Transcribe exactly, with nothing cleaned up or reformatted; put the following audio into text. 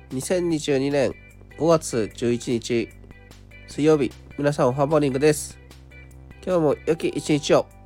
にせんにじゅうにねんごがつじゅういちにち水曜日、皆さんおはモーニングです。今日も良き一日を。